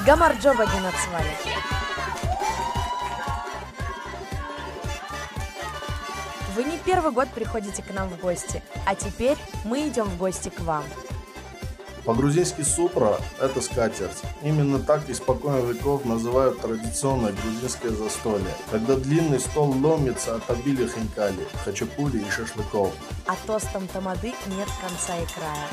Гамарджоба Генацвали. Вы не первый год приходите к нам в гости, а теперь мы идем в гости к вам. По-грузински супра – это скатерть. Именно так испокон веков называют традиционное грузинское застолье, когда длинный стол ломится от обилия хинкали, хачапури и шашлыков. А тостом тамады нет конца и края.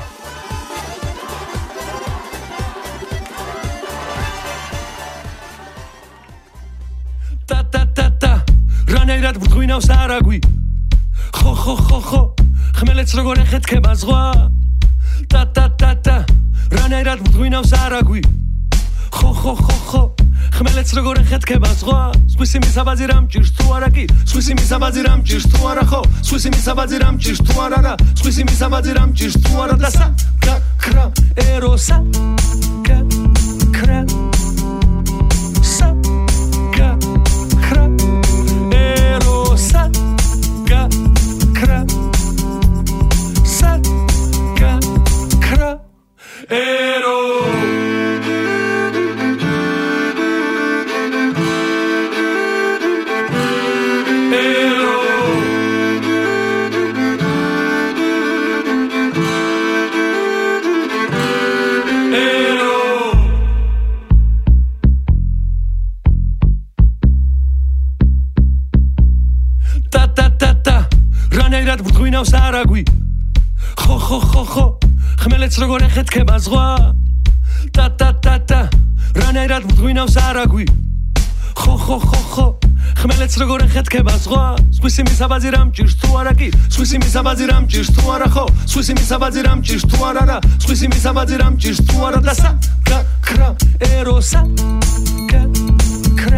Та-та-та-та, რანაირად ბრღვინავს არაგვი ხო ხმელეთს როგორ ეხეთქება ზღვა Та-та-та-та, რანაირად ბრღვინავს არაგვი ხო ხმელეთს როგორ ეხეთქება ზღვა სხვისი მისაბაძი რამ ჭირს თუ არა კი სხვისი მისაბაძი რამ ჭირს თუ არა ხო სხვისი მისაბაძი რამ ჭირს თუ არა რა სხვისი მისაბაძი რამ ჭირს თუ არა და საკრა ეროსა კრა რანაირად ბრღვინავს არაგვი ხო ხმელეთს როგორ ეხეთქება ზღვა Та-та-та-та, რანაირად ბრღვინავს არაგვი ხო ხმელეთს როგორ ეხეთქება ზღვა სხვისი მისაბაძი რამ ჭირს თუ არა კი სხვისი მისაბაძი რამ ჭირს თუ არა ხო სხვისი მისაბაძი რამ ჭირს თუ არა რა სხვისი მისაბაძი რამ ჭირს თუ არა და საკრა ეროსა კრა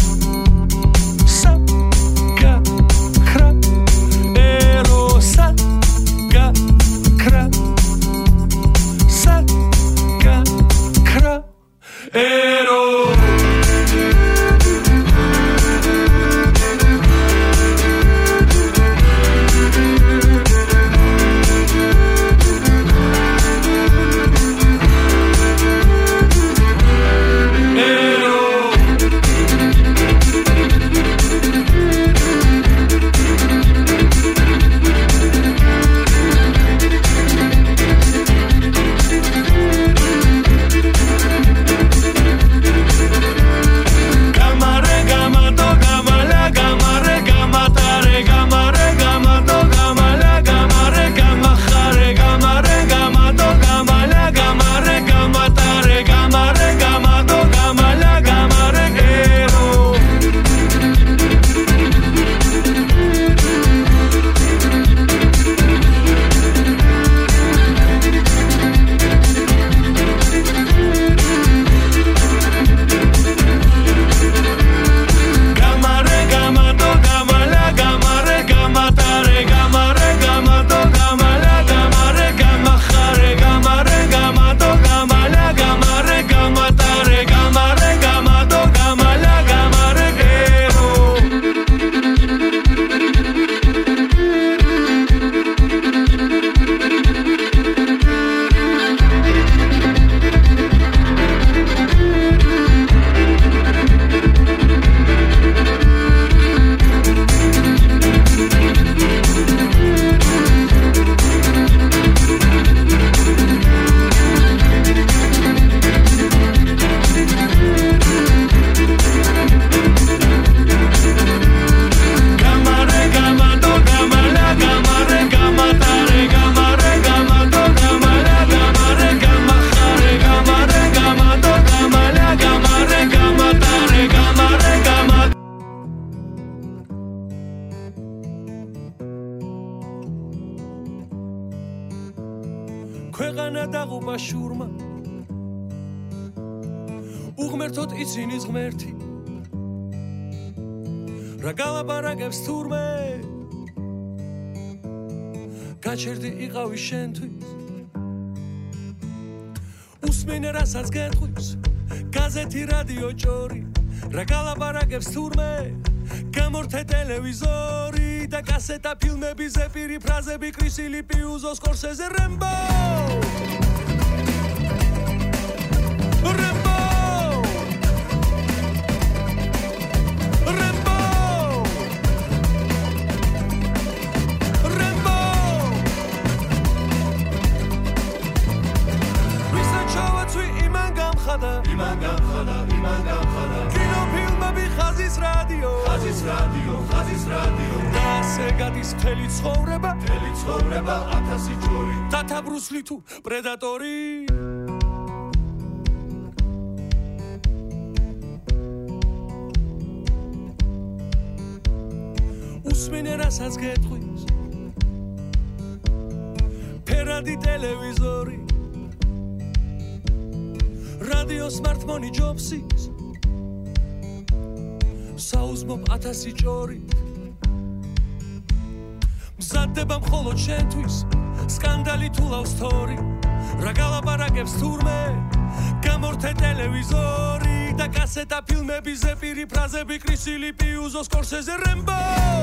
ქვეყანა დაღუპა შურმა უღმერთოდ იცინი ღმერთი რა გალაპარაკებს თურმე გაჩერდი იყავი შენთვის უსმენე რასაც გეტყვის გაზეთი რადიო ჭორი რა გალაპარაკებს თურმე გამორთე ტელევიზორი და კასეტა ფილმები ზეპირი ფრაზები კრისილი პიუზო სკორსეზე რემბო კინოფილმები ხაზის რადიო და ასე გადის მთელი ცხოვრება ათასი ჯორი დათაბრუსლი თუ პრედატორი უსმენე რასაც გეტყვის ფერადი ტელევიზორი რადიო სმარტფონი ჯობსის საუზმობ ათასი ჭორი მზადდება მხოლოდ შენთვის სკანდალი თუ ლავს თორი რა გალაპარაკებს თურმე გამორთე ტელევიზორი და კასეტა ფილმები ზეპირი ფრაზები კრისილი პიუზო სკორსეზე რემბო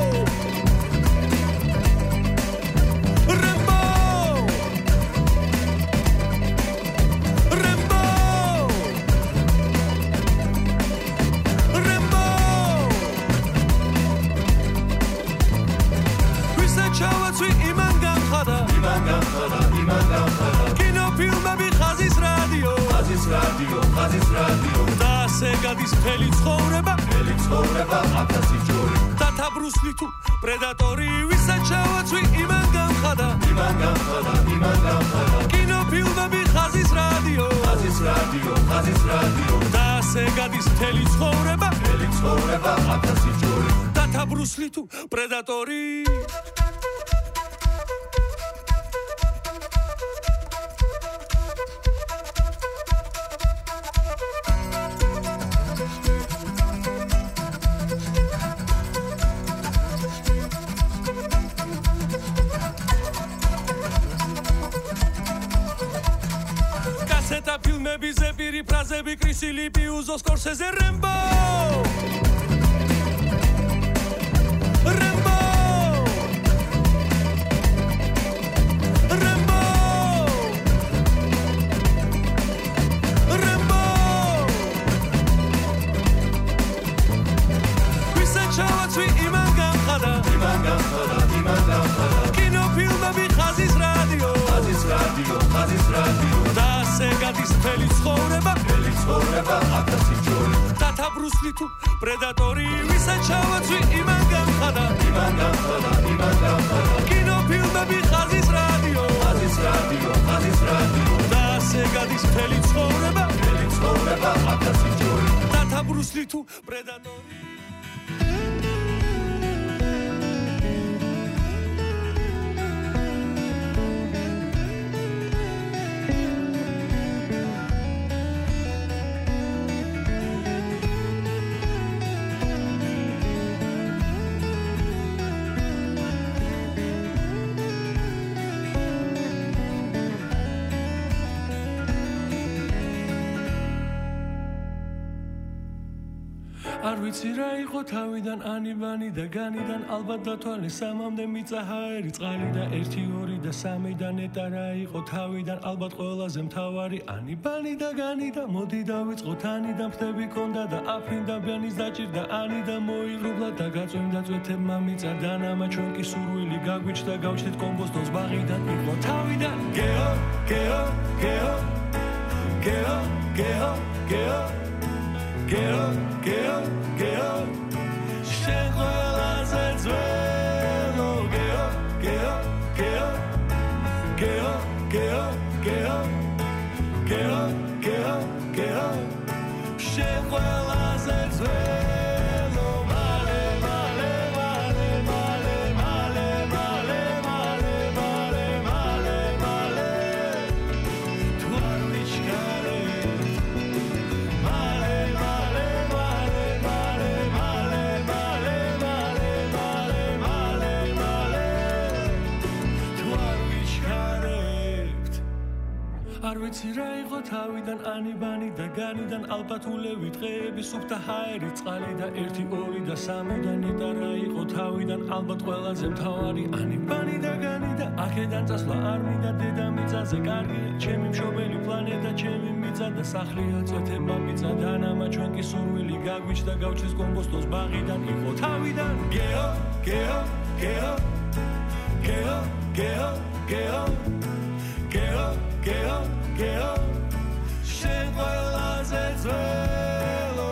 კინოფილმები ხაზის რადიო და ასე გადის მთელი ცხოვრება ათასი ჯორი დათაბრუსლი თუ პრედატორი ვისაც ჩავაცვი იმან გამხადა კინოფილმები ხაზის რადიო და ასე გადის მთელი ცხოვრება ათასი ჯორი დათაბრუსლი თუ პრედატორი კასეტა ფილმები ზეპირი ფრაზები კრისილი პიუზო სკორსეზე რემბო ვისაც ჩავაცვი იმან გამხადა კინოფილმები ხაზის რადიო და ასე გადის მთელი ცხოვრება ათასი ჯორი დათაბრუსლი თუ პრედატორი ვისაც ჩავაცვი იმან გამხადა კინოფილმები ხაზის რადიო და ასე გადის მთელი ცხოვრება ათასი ჯორი დათაბრუსლი თუ პრედატორი არ ვიცი რა იყო თავიდან ანიბანი და განიდან ალბათ დათვალე სამამდე მიწაჰაერი წყალი და 1 2 და 3 და ნეტა რა იყო თავიდან ალბათ ყველაზე მთავარი ანიბანი და განი და მოდი დავიწყოთ ანი და ფრთები კონდა და აფრინდა ბიანის დაჭირდა ანი და მოიღრუბლა და გაწვიმდა წვეთებმა მიწა და ნამა ჩვენ კი სურვილი გაგვიჩნდა გავჩნდით კომბოსტოს ბაღიდან იყო თავიდან გეო გეო გეო გეო გეო გეო Geo, Geo, Geo, შენ ყველაზე ძველო Geo, Geo, Geo, Geo, Geo, Geo, Geo, Geo, Geo, შენ ყველაზე ძველო მალე მალე მალე მალე მალე მალე მალე მალე მალე მალე თუ არ ვიჩქარე არ ვიცი რა იყო თავიდან ანიბანი და განიდან ალბათ ულევი დღეები სუფთა ჰაერი წყალი და 1 2 და 3 და ნეტა რა იყო თავიდან ალბათ ყველაზე მთავარი ანიბანი და განი და აქედან წასვლა არ მინდა დედამიწაზე კარგია ჩემი მშობელი პლანეტა ჩემი მიწა და სახლია წვეთებმა მიწა და ნამა ჩვენ კი სურვილი გაგვიჩნდა გავჩეს კომბოსტოს ბაღიდან იყო თავიდან გეო გეო გეო გეო გეო გეო გეო გეო Geo, შენ ყველაზე ძველო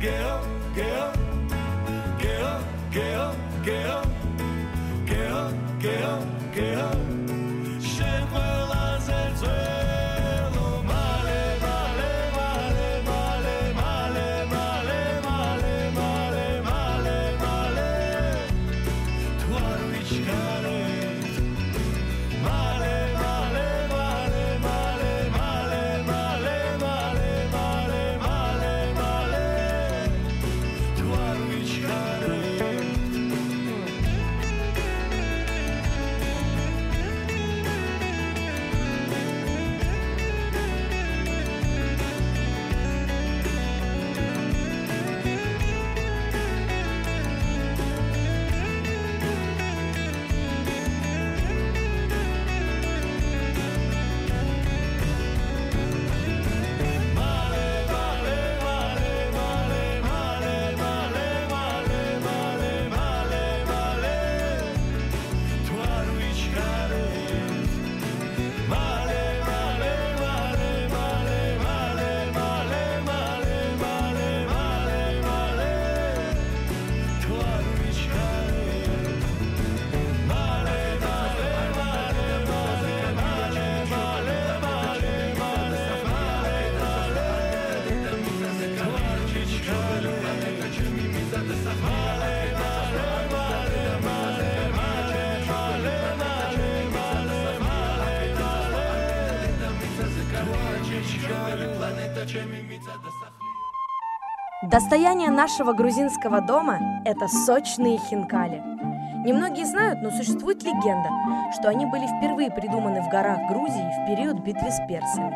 Достояние нашего грузинского дома – это сочные хинкали. Немногие знают, но существует легенда, что они были впервые придуманы в горах Грузии в период битвы с персами.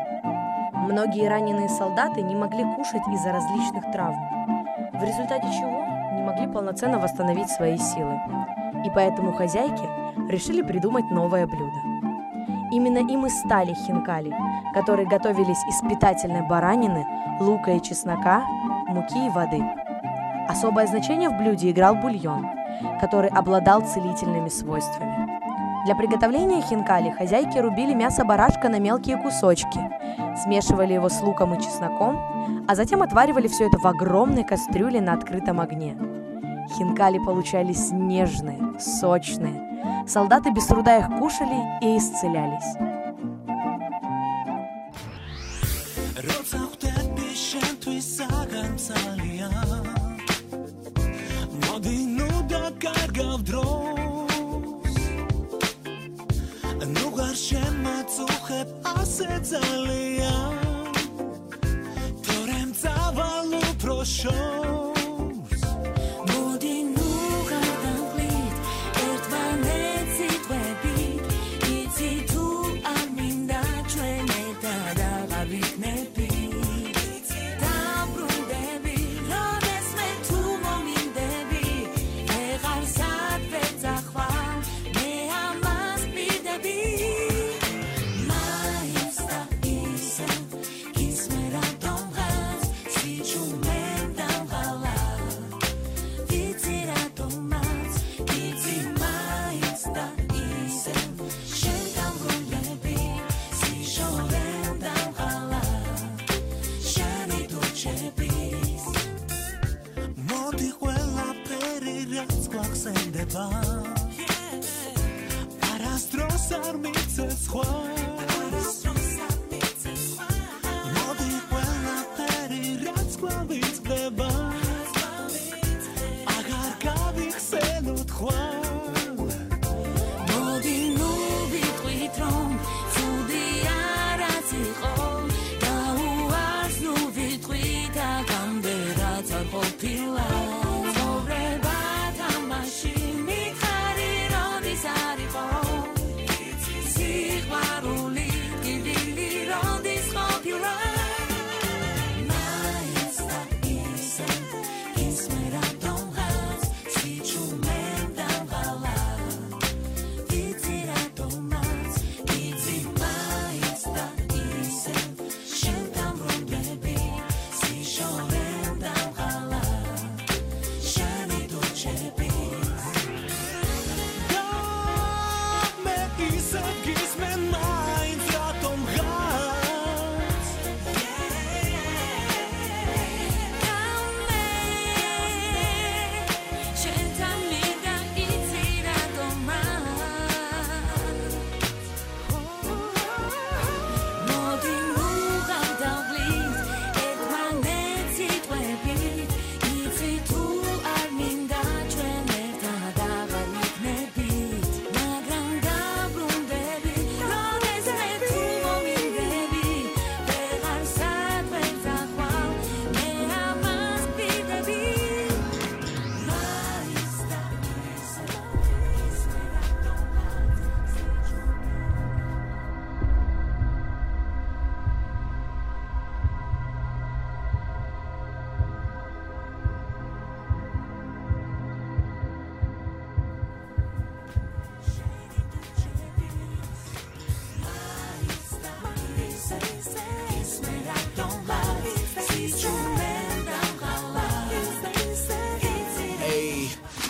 Многие раненые солдаты не могли кушать из-за различных травм, в результате чего не могли полноценно восстановить свои силы. И поэтому хозяйки решили придумать новое блюдо. Именно им и стали хинкали, которые готовились из питательной баранины, лука и чеснока, муки и воды. Особое значение в блюде играл бульон, который обладал целительными свойствами. Для приготовления хинкали хозяйки рубили мясо барашка на мелкие кусочки, смешивали его с луком и чесноком, а затем отваривали все это в огромной кастрюле на открытом огне. Хинкали получались нежные, сочные. Солдаты без труда их кушали и исцелялись.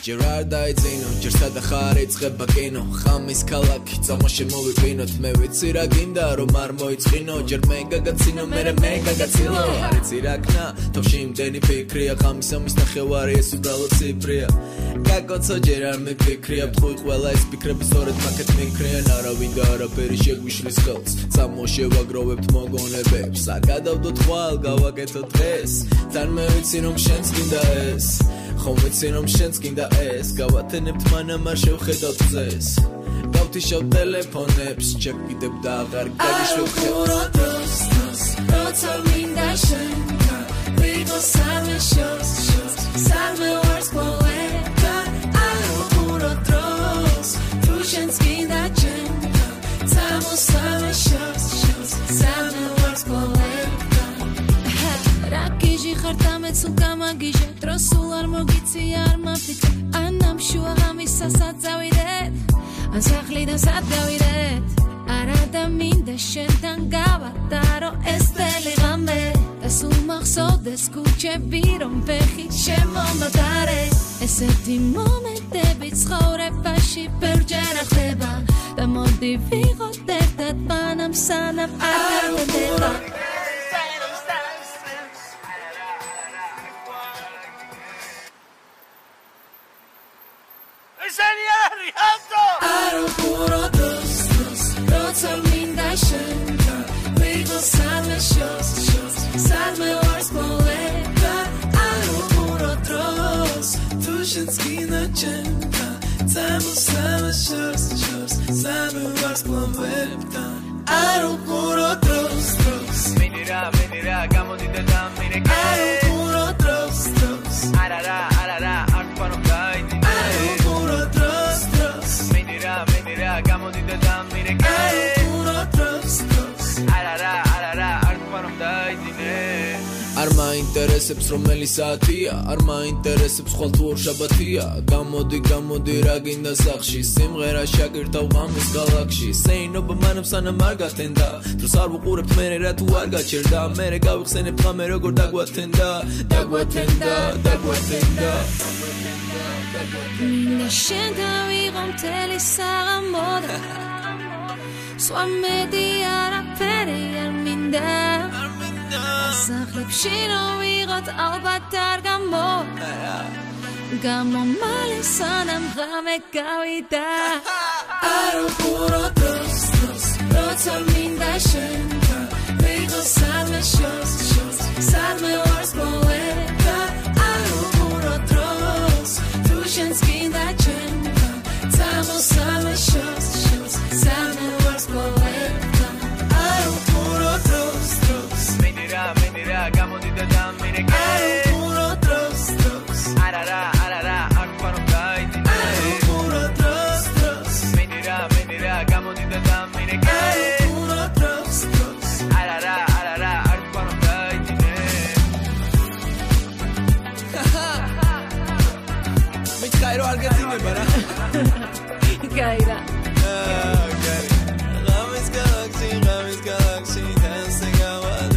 ჯერ არ დაიძინო ჯერ სადა ხარ იწყება კინო ხამის ქალაქი წამო შემოვიყინოთ მე ვიცი რა გინდა რომ არ მოიწყინო ჯერ მე გაგაცინო მე გაგაცილო არ იცი რა ქნა თავში იმდენი ფიქრია ხამის ამის ნახევარი ეს უბრალოდ ციფრია გაკოცო ჯერ არ მიფიქრია ფხუი ყველა ეს ფიქრები სწორედ მაგეთ მიქრიან არავინ და არაფერი შეგვიშლის ხელს წამო შევაგროვებთ მოგონებებს არ გადავდოთ ხვალ გავაკეთოთ დღეს თან მე ვიცი რომ შენც გინდა ეს ხომ ვიცი რომ შენც გინდა ეს გავათენებთ მანამ არ შევხედავთ ძეს გავთიშავ ტელეფონებს ჩეკიდებ და აღარ გაგიშვებ ხელს როცა მინდა შენ ვიღო სამე შოს სამე ვარს პოეტა აურო დროს თუ შენც გინდა ჩემ წამო სამე შოს სამე ვარს პოეტა რაკიჟი ხარ დამეცულ გამაგიჟე დროს სულ არ მოგიცი არ მაფიქრე ანამ შუა ღამისასაც წავიდეთ ან სახლიდან სად გავიდეთ არა და მინდა შენთან გავატარო ეს წელი ღამე და სულ მახსოვდეს ქუჩები რომ ფეხი შემომატარე ესეთი მომენტები ცხოვრებაში ბევრჯერ ხდება და მოდი ვიღოთ ერთად მანამ სანამ არ გავდება Aeroporto dos Roța minda șenca Vigo salme șos Salme ors poeta Aeroporto dos Tu șen schina cenca Țamu salme șos Salme ors poeta Aeroporto dos Menira, gamo di te dam mire che Aeroporto dos Arara, arpanom dai di Menira, gamo di te dam mire che Arara, arpanom dai di არ მაინტერესებს რომელი საათია არ მაინტერესებს ხვალ თუ ორ შაბათია გამოდი რა გინდა სახში სიმღერა შაგირდავ ღამის გალაქსში სეინობა მანამ სანამ არ გათენდა დროს არ ვუყურებთ მერე რა თუ არ გაჩერდა მერე გავიხსენებთ ღამე როგორ დაგვათენდა მინდა შენ დავიღო მთელი საღამოდა სხვა მეტი არაფერი არ მინდა სახლებში რომ ვიღოთ ალბათ არ გამომალე სანამ ღამე გავიდა Aeroporto dos როცა მინდა შენთან ვიღო სამე შოს სამე ვარს პოეტა Aeroporto dos თუ შენც გინდა ჩემთან წამო სამე შოს სამე ვარს პოეტა Aeroporto dos Menira, gamo di te dam mire che Aeroporto dos Arara, arpanom dai di Aeroporto dos Menira, gamo di te dam mire che Aeroporto dos Arara, arpanom dai di Mit Cairo Argentina bara Cairo Gamis galaxy dancing out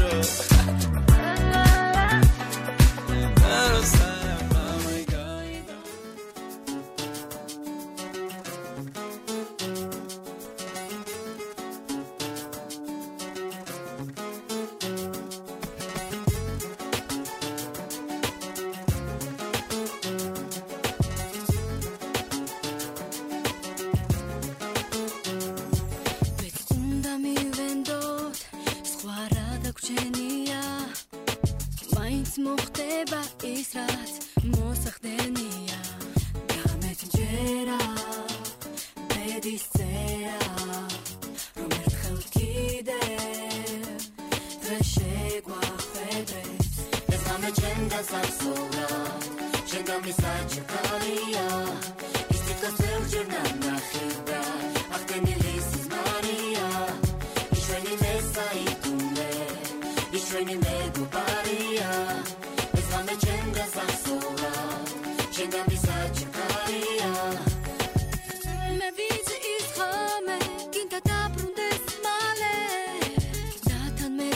მოხდება ის რაც მოსახდენია გამეთჯერა ბედის წერა რომ ერთხელ კიდევ დღეს შეგვახვედრებს ეს ღამე ჩვენ გასასურა შენ გამისაჩქარია ის თვითონ ბევრჯერ ნახება აღდგენილი სიზმარია იშვენი მესაიტუნე იშვენი მეგობარია ეს ღამე ჩვენ გასასურა შენ გამისაჩქარია მე ვიცი ის ღამე გინდა დაბრუნდეს მალე და თან მე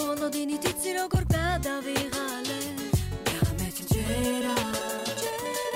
წამოლოდინით იცი როგორ გადავიღალე გამეთჯერა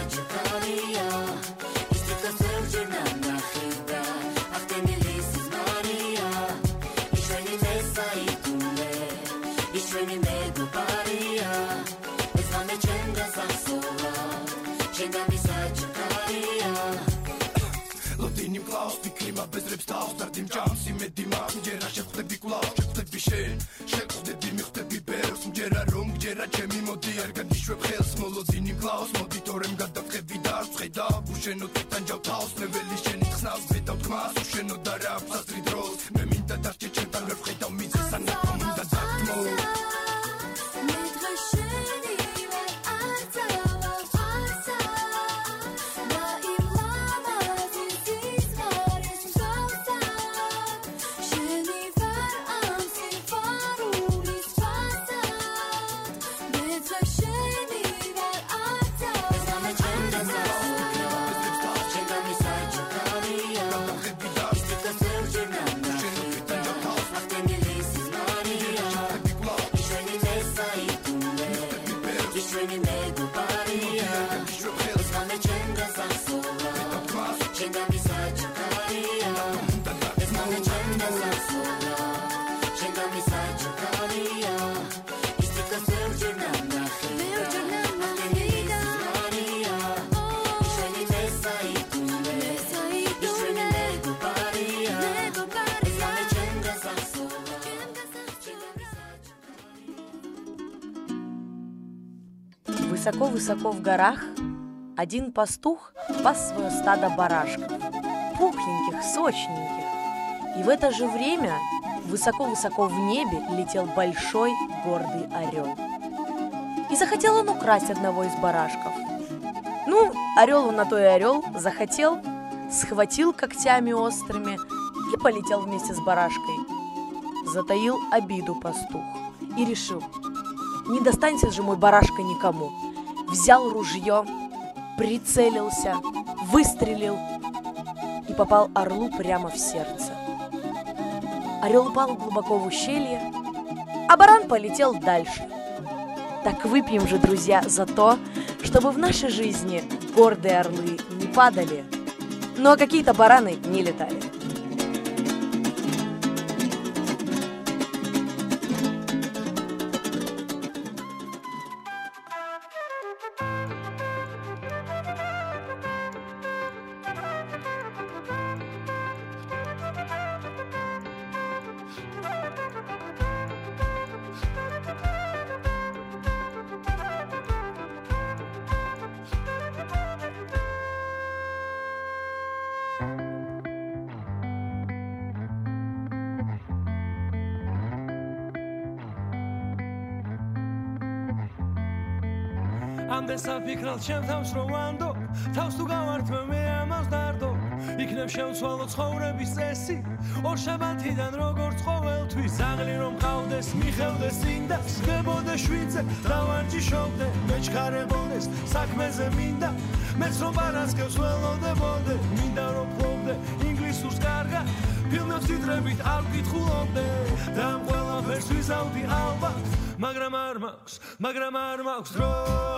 საჩქარია ის თვითონ ზევჯერ ნახიდა ახტენილი სიზმარია იშვენი მესაიტუნე იშვენი მეგობარია ეს ღამე ჩემ გასახსოვა შენგანი საჩქარია ლოდინი მკლავს ფიქრიმა ბეზრებს თავს დარდიმ ჭამს იმედი მაქვს მჯერა შეხვდები კვლავ შეხვდები შენ შეხვდები მიხვდები ბერს მჯერა რომ გჯერა ჩემი მოდი არ გაგიშვებ ხელს მოლოდინი მკლავს მოდიტორემ გადაწყები დარწხედა უშენო თვითონ ჯავთავს ნეველი შენი ხსნავს ვიდავ თქმას უშენო და რა ფასტრი დროს მე მინდა დარჩე ჩემთან ვერ ვხედავ მიზეს ან მინდა დაგმო Высоко-высоко в горах один пастух пас свое стадо барашков, пухленьких, сочненьких. И в это же время высоко-высоко в небе летел большой гордый орел. И захотел он украсть одного из барашков. Ну, орел он на то и орел, захотел, схватил когтями острыми и полетел вместе с барашкой. Затаил обиду пастух и решил: не достанется же мой барашка никому. Взял ружье, прицелился, выстрелил и попал орлу прямо в сердце. Орел упал глубоко в ущелье, а баран полетел дальше. Так выпьем же, друзья, за то, чтобы в нашей жизни гордые орлы не падали, ну а какие-то бараны не летали. ამდენ საფიქრალ ჩემ თავს რო ვანდო თავს თუ გავართმევ მე ამას დარდო იქნებ შევცვალო ცხოვრების წესი ორ შაბათიდან როგორც ყოველთვის ზაღლი რომ ყავდეს მიხევდეს წინდა სგებოდე შვიცე დავარჯიშობდე მეჩქარებოდეს საქმეზე მინდა მეც რომ პარასკევს ველოდებოდე მინდა რომ ფლობდე ინგლისურს კარგად ფილმებს თიტრებით არ ვკითხულობდე და ამ ყველაფერს ვიზავდი ალბათ მაგრამ არ მაქვს დრო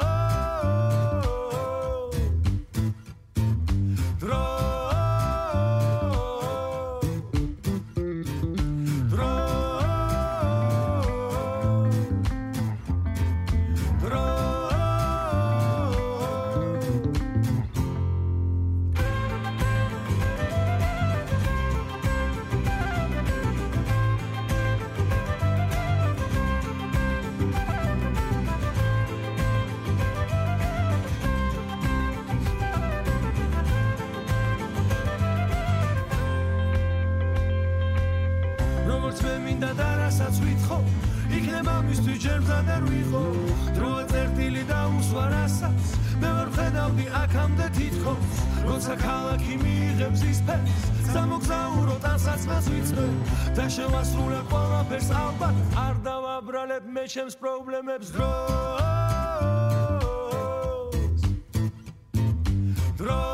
იქნება მისთვის ჯერ მზად არ ვიყო დროა წერტილი და უსვარასაც მე ვერ ვხედავდი აქამდე თითქოს როცა ქალაქი მიიღებს ის ფერს სამოგზაურო ტანსაცმელს ვიცმე და შევასრულებ ყველაფერს ალბათ არ დავაბრალებ მე ჩემს პრობლემებს დროს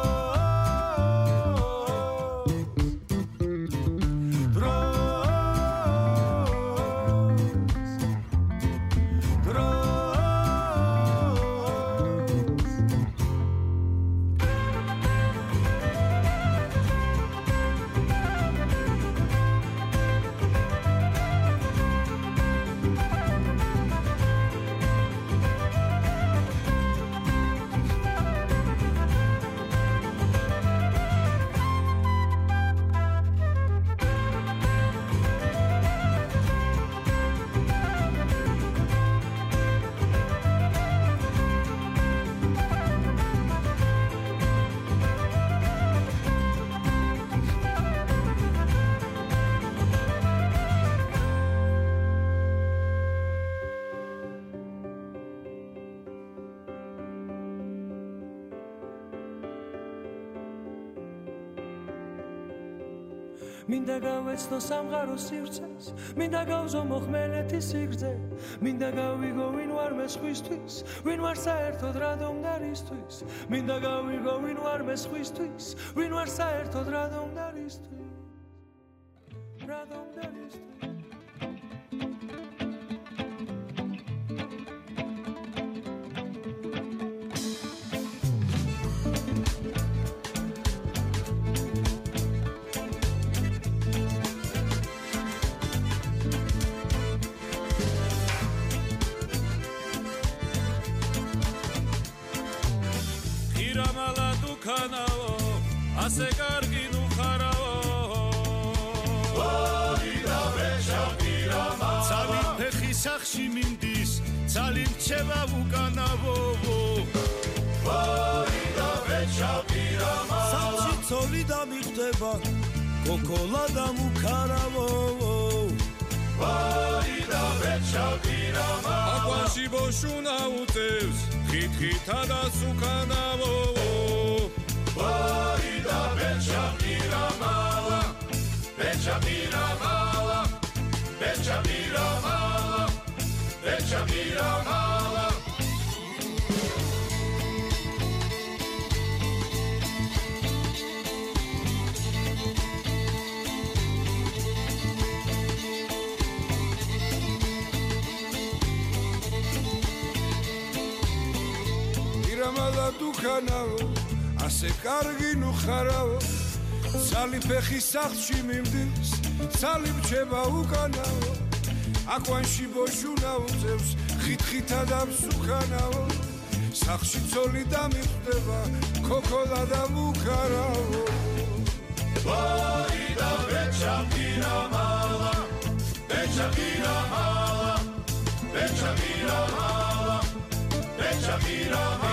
მინდა გავეცნო სამყაროს სივრცეს, მინდა გავზო მოხმელეთის სიგრძე, მინდა გავიგო ვინ ვარ მე სხვისთვის, ვინ ვარ საერთოდ რადომდარისთვის, მინდა გავიგო ვინ ვარ მე სხვისთვის, ვინ ვარ საერთოდ რადომდარისთვის, რადომდარისთვის. ასე კარგი ნუ ხარავო ვაიდა ვეშაპირამა ცალი ფეხი სახში მინდის ცალი რჩება უკანავო ვაიდა ვეშაპირამა სახში ცოლი დამიხდება კოკოლა დამუქარავო ვაიდა ვეშაპირამა აკვანში ბოშუნა უწევს ხითხითა და სუკანავო ვაიდა ვეშაპირამალა ვეშაპირამალა ვეშაპირამალა ვეშაპირამალა პირამალა დუქანავო ასე კარგი ნუ ხარავო ცალი ფეხი სახში მიმდის ცალი რჩება უკანავო აკვანში ბოშუნა უწევს ხითხითა და მსუქანავო სახში ცოლი დამიხდება კოკოლა და მუქარავო ვაიდა ვეშაპირამალა ვეშაპირამალა ვეშაპირამალა ვეშაპირამალა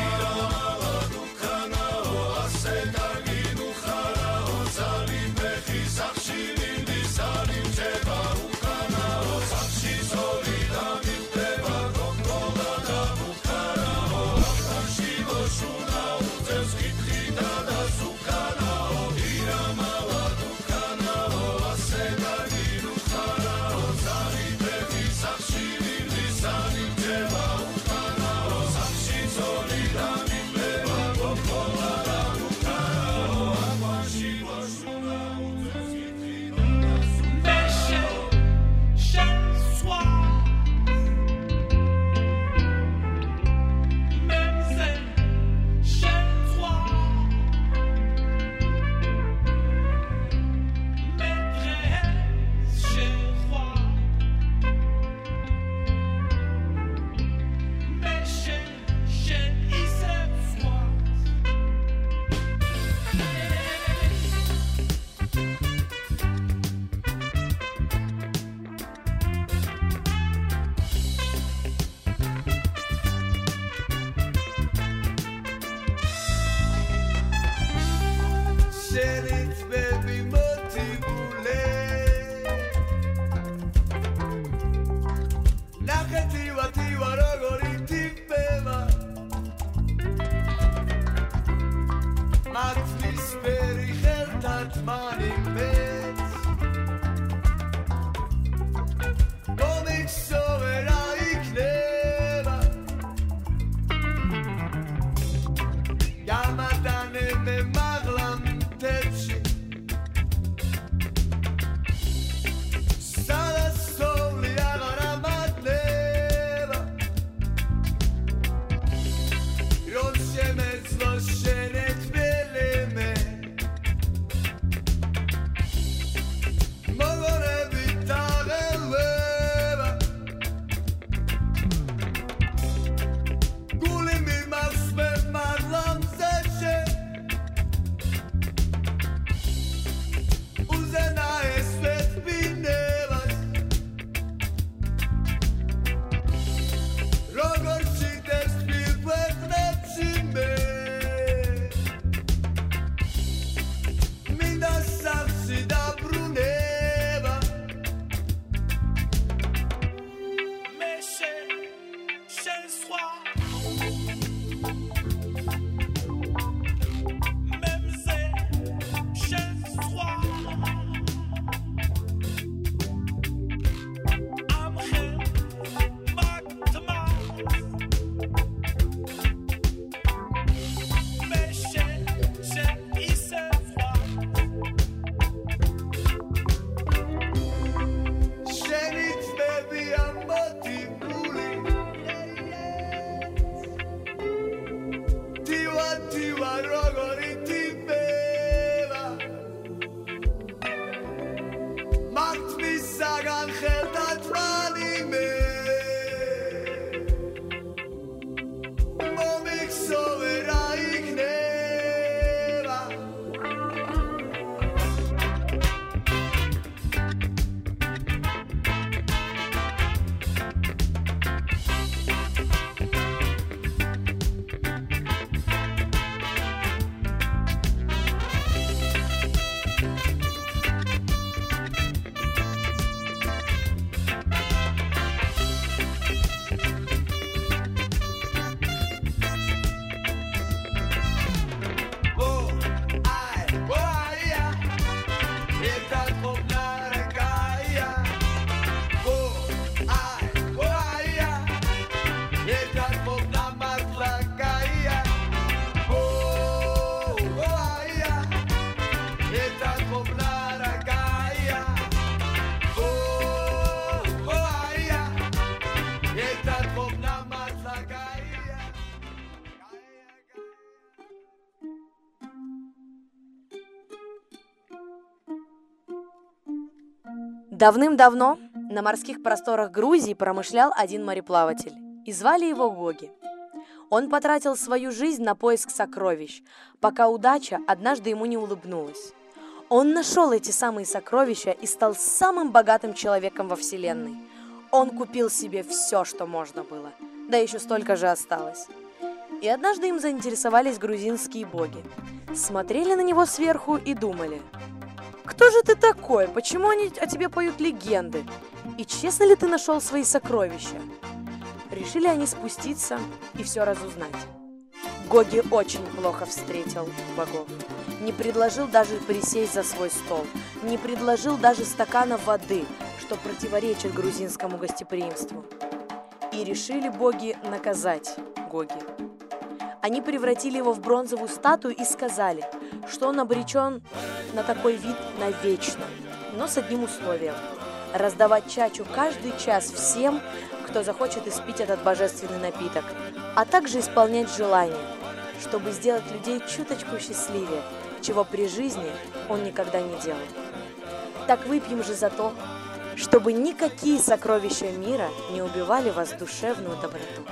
Давным-давно на морских просторах Грузии промышлял один мореплаватель, и звали его Гоги. Он потратил свою жизнь на поиск сокровищ, пока удача однажды ему не улыбнулась. Он нашел эти самые сокровища и стал самым богатым человеком во Вселенной. Он купил себе все, что можно было, да еще столько же осталось. И однажды им заинтересовались грузинские боги. Смотрели на него сверху и думали: «Кто же ты такой? Почему они о тебе поют легенды? И честно ли ты нашел свои сокровища?» Решили они спуститься и все разузнать. Гоги очень плохо встретил богов. Не предложил даже присесть за свой стол. Не предложил даже стакана воды, что противоречит грузинскому гостеприимству. И решили боги наказать Гоги. Они превратили его в бронзовую статую и сказали, что он обречен на такой вид навечно, но с одним условием – раздавать чачу каждый час всем, кто захочет испить этот божественный напиток, а также исполнять желания, чтобы сделать людей чуточку счастливее, чего при жизни он никогда не делал. Так выпьем же за то, чтобы никакие сокровища мира не убивали вас душевную доброту.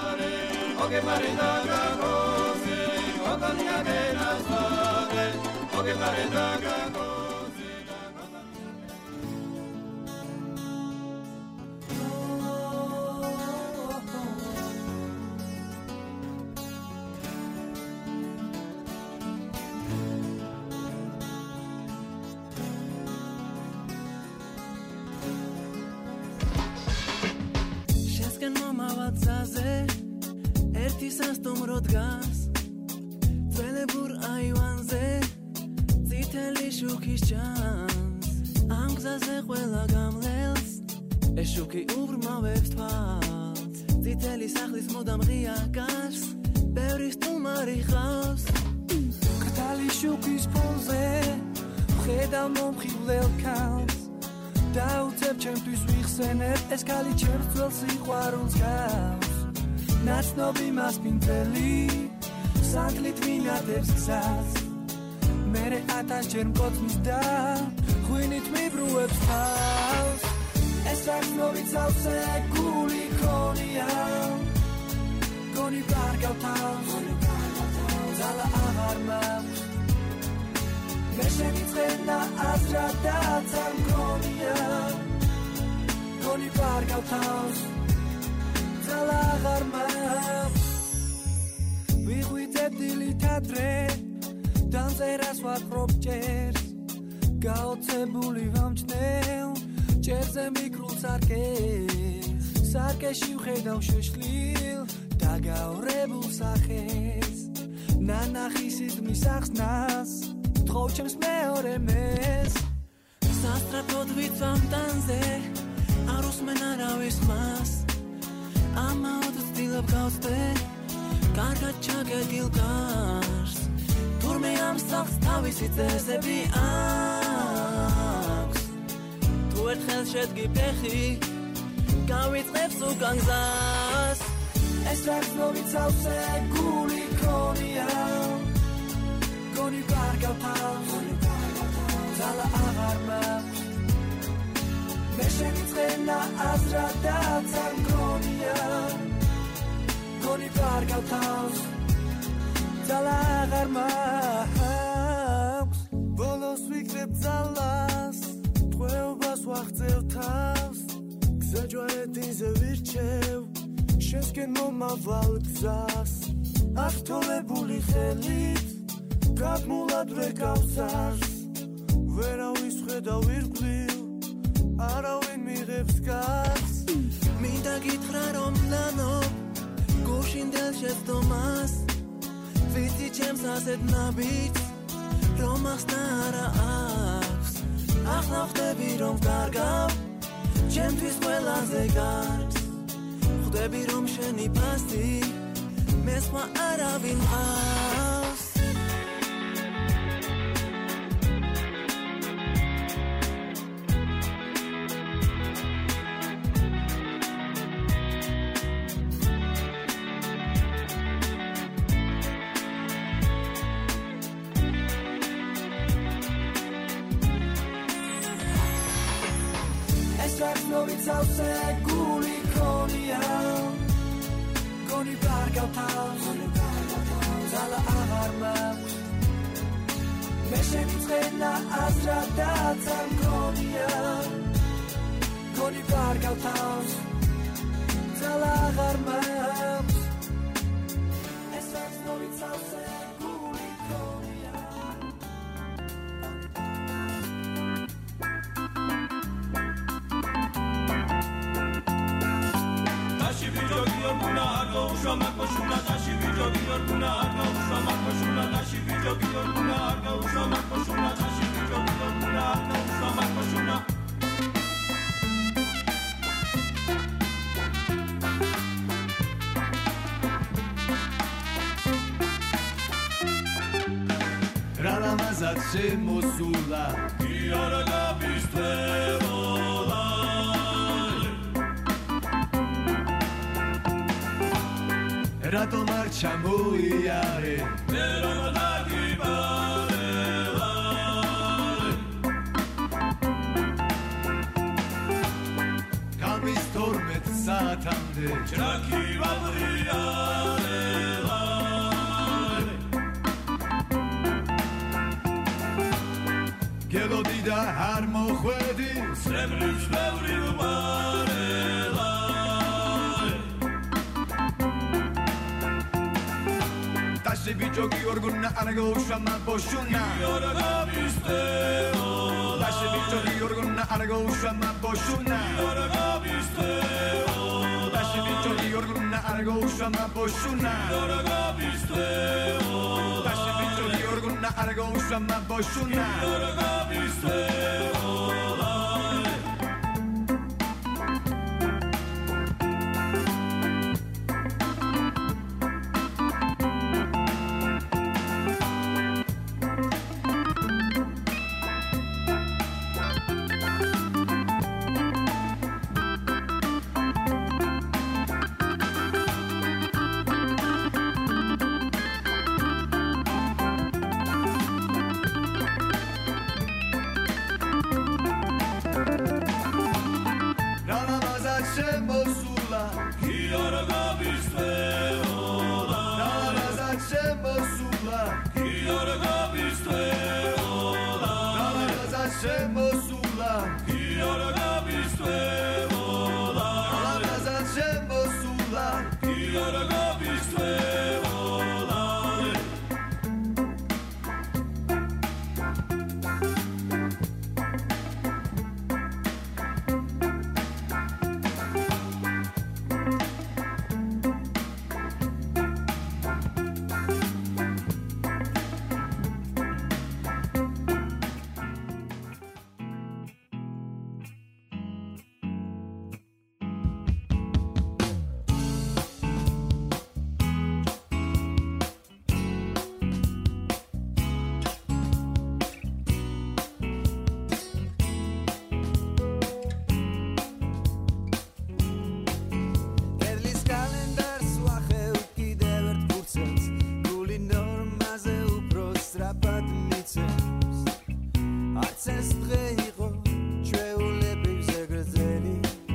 Შესკენ მომავაცაზე ერთი სასტუმრო დგას ძველებურ აივანზე წითელი შუქის ჭამს ამ გზაზე ყველა გამლელს ეს შუქი უბრმავებს თვალს წითელი სახლის მუდამ ღია გარს ბევრი სტუმარი ხავს ქთალი შუქის ფონზე ვხედავ მომხიბლელ ქალს დაუწებ ჩემთვის ვიხსენებ ეს ქალი ჩემს ძველ სიყვარულს გავს ნაცნობი მასპინძელი სანთლით ვინადებს გზას მერე 1000-ჯერ მკოცნის და ღვინით მიბრუებს თავს ეს რაცნობი ცალსე გული ქონია გონი პარგავთავს ძალა აღარ მაქვს მე შემიწყენა აზრადაც არ მქონია გონი პარგავთავს ძალა აღარ მაქვს ვიღვიძებ დილით ადრე დამწერას ვაკრობ ჭერს გაოცებული ვამჩნევ ჭერზე მიკრულ სარკეს სარკეში ვხედავ შეშლილ დაგაორებულ სახეს ნანახის იზმის ახსნას თხოვ ჩემს მეორე მეს სასტრაფოდ ვიცვამ ტანზე არ უსმენ არავის მას ამაოდ ვცდილობ გავწდე კარგად ჩაგედილ გარს თურმე ამ სახლს თავისი წესები აქვს თუ ერთხელ შედგი ფეხი გავიწყებს უკან გზას ეს რაცნობი ცალსე გული ქონია გონი პარგავთავს ძალა აღარ მაქვს მე შემიწყენა აზრადაც არ მქონია გონი პარგავთავს ძალა აღარ მაქვს ბოლოს ვიქრებ ძალას ტყვეობას ვაღწევ თავს გზაჯვარედინზე ვირჩევ შესკენ მომავალ გზას ართოლებული ხელით გაგმულად ვეკავსარს ვერავის ხედავ ირგვლივ არავინ მიღებს გარს მინდა გითხრა რომ ნანობ გუშინდელ შეცდომას ვიცი ჩემს ასეთ ნაბიჯს რომ ახსნა არა აქვს ახლა ვხდები რომ ვკარგავ ჩემთვის ყველაზე კარგს ხვდები რომ შენი ფასი მე სხვა არავინ ჰყავს no ვიცავსე გული ქონია გონი გარგავთავს ძალა აღარ მაქვს მე შემიწყენა აზრადაც არ მქონია გონი გარგავთავს ძალა აღარ მაქვს ეს რაც no ვიცავსე გული ქონია Dashi vijogi orguna argo ushama koshuna Dashi vijogi orguna argo ushama koshuna Dashi vijogi orguna argo ushama koshuna Dashi vijogi orguna argo ushama koshuna Ralamazat შემოსულა Iara gabistveola Ratom ar ჩამოიარე Nerom dagibarela Kamis 12 საათამდე Ჭრაკი ვაბრიარela გელოდი და არ მოხვედი Sreblis ბევრი ვარela Dashi vijogi orguna argo ushama boshuna Iara gabistveola Dashi vijogi orguna argo ushama boshuna Iara gabistveola Dashi vijogi orguna argo ushama boshuna Iara gabistveola Dashi vijogi orguna argo ushama boshuna Iara gabistveola Ralamazat შემოსულა Iara gabistveola Ralamazat შემოსულა Iara gabistveola Ralamazat შემოსულა Iara gabistveola Ralamazat შემოსულა Iara gabistveola კერლის კალენდარს ვახევ კიდევ ერთ ფურცელს გული ნორმაზე უფრო სწრაფად მიცემს არც ეს დღე იყო ჩვეულებრივზე გრძელი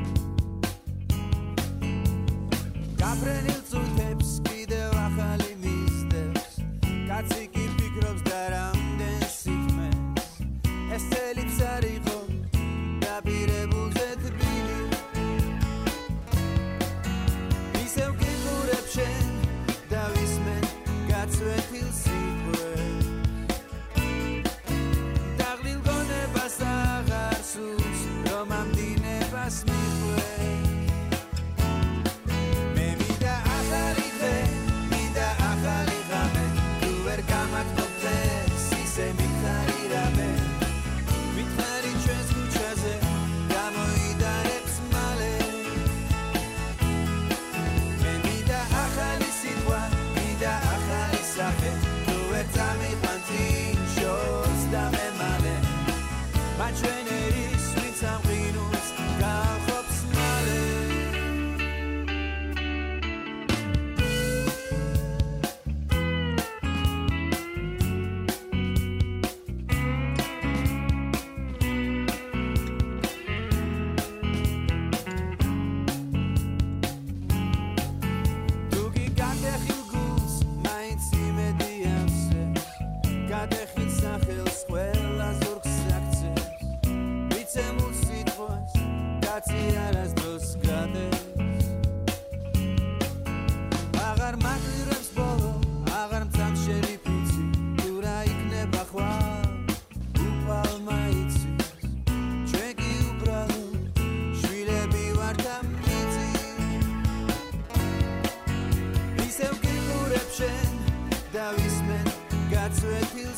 გაფრენილ წუთებს კიდევ ახალი მისდევს კაცი კი ფიქრობს და რამდენ სითმეს ეს წელიც არ იყო დაპირებულზე თბილი ისევ გიყურებ შენ და ვისმენ გაწვეთილ სიყვარულს დაღლილ გონებას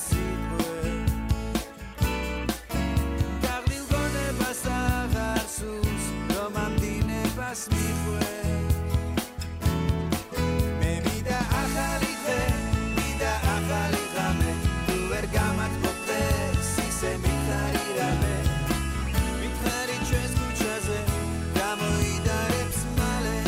סיפור כך ללגונה בסחר סוס לא ממדינה בסמיפור במידה אחליכה מידה אחליכה tu ergamat popes si se mitharirame mitharit che escuchase damo i darets male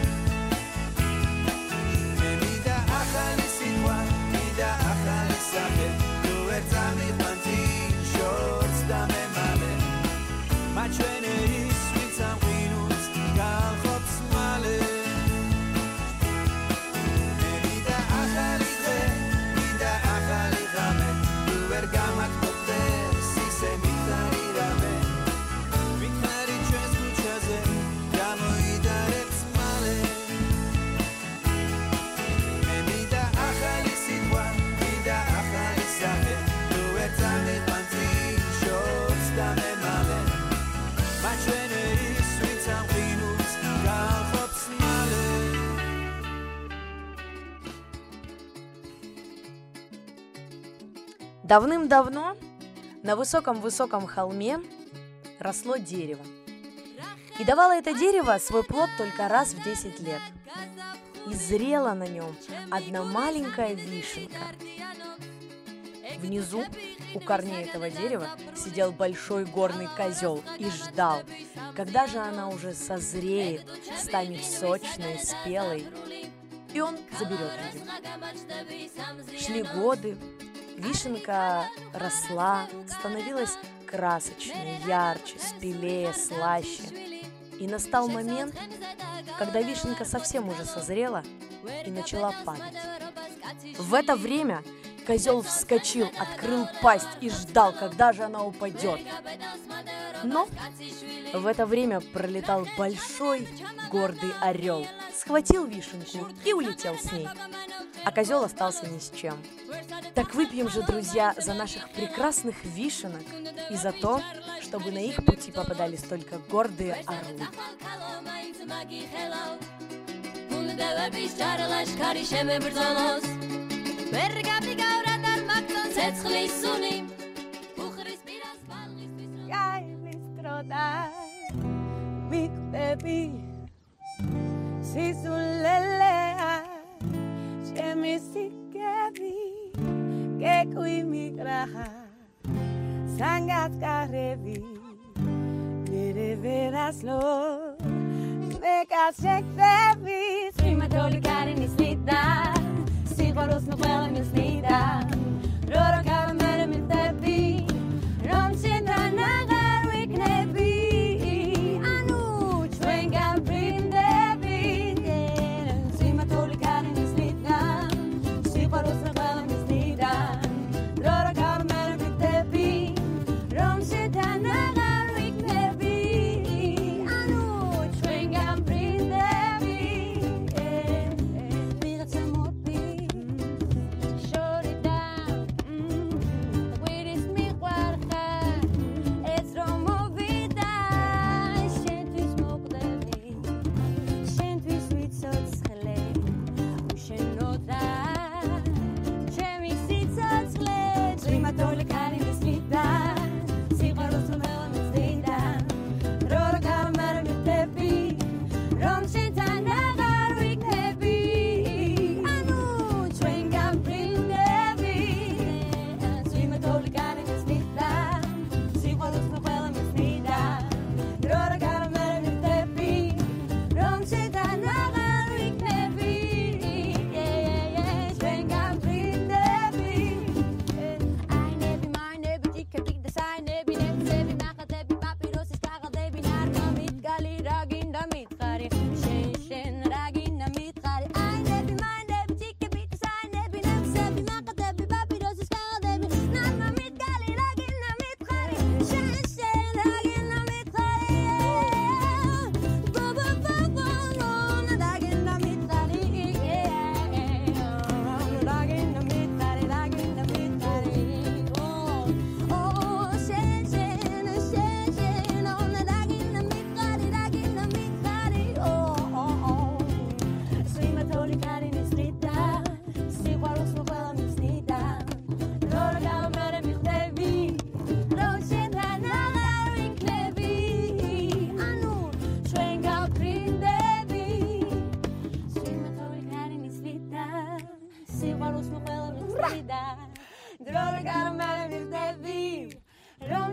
mida achali sitwa mida achali sabe tu erzami panti shorts da me male ma chene is mit sam winus gar hops male mida achali mida achali rame tu ergamat popes si se mitharirame mitharit che escuchase damo i darets male mida achali sitwa mida achali sabe tu erzami panti shorts da me male ma chene is mit sam winus gar hops male Давным-давно на высоком-высоком холме росло дерево. И давало это дерево свой плод только раз в 10 лет. И зрела на нем одна маленькая вишенка. Внизу, у корней этого дерева, сидел большой горный козел и ждал, когда же она уже созреет, станет сочной, спелой, и он заберет ее. Шли годы, вишенка росла, становилась красочнее, ярче, спелее, слаще. И настал момент, когда вишенка совсем уже созрела и начала падать. В это время козел вскочил, открыл пасть и ждал, когда же она упадет. Но в это время пролетал большой гордый орел, схватил вишенку и улетел с ней. А козел остался ни с чем. Так выпьем же, друзья, за наших прекрасных вишенок и за то, чтобы на их пути попадались только гордые орлы. che qui mi graha sangat karevi mere veras lo me kasek devi sima toli karin is nida sigoros no wel mis nida roro ka mere mit devi ron sindra nagar wik nevi anu twenga brin devi sima toli karin is nida sigoros no wel mis nida roro ka mere mit devi ron sindra nagar wik nevi anu twenga brin devi mir tsmoti short it down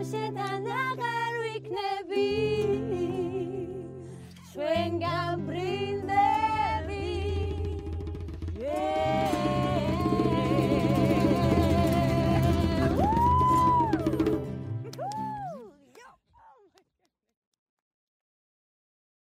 שתנ